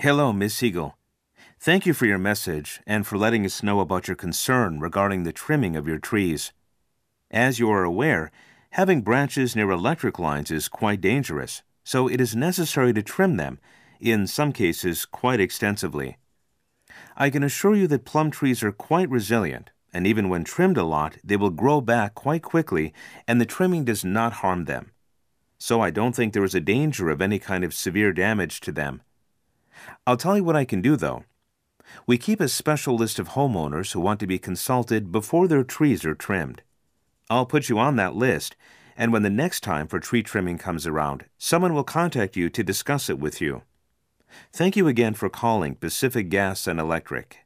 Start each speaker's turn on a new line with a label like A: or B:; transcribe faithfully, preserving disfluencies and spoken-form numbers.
A: Hello, Miss Siegel. Thank you for your message and for letting us know about your concern regarding the trimming of your trees. As you are aware, having branches near electric lines is quite dangerous, so it is necessary to trim them, in some cases quite extensively. I can assure you that plum trees are quite resilient, and even when trimmed a lot, they will grow back quite quickly, and the trimming does not harm them. So I don't think there is a danger of any kind of severe damage to them. I'll tell you what I can do, though. We keep a special list of homeowners who want to be consulted before their trees are trimmed. I'll put you on that list, and when the next time for tree trimming comes around, someone will contact you to discuss it with you. Thank you again for calling Pacific Gas and Electric.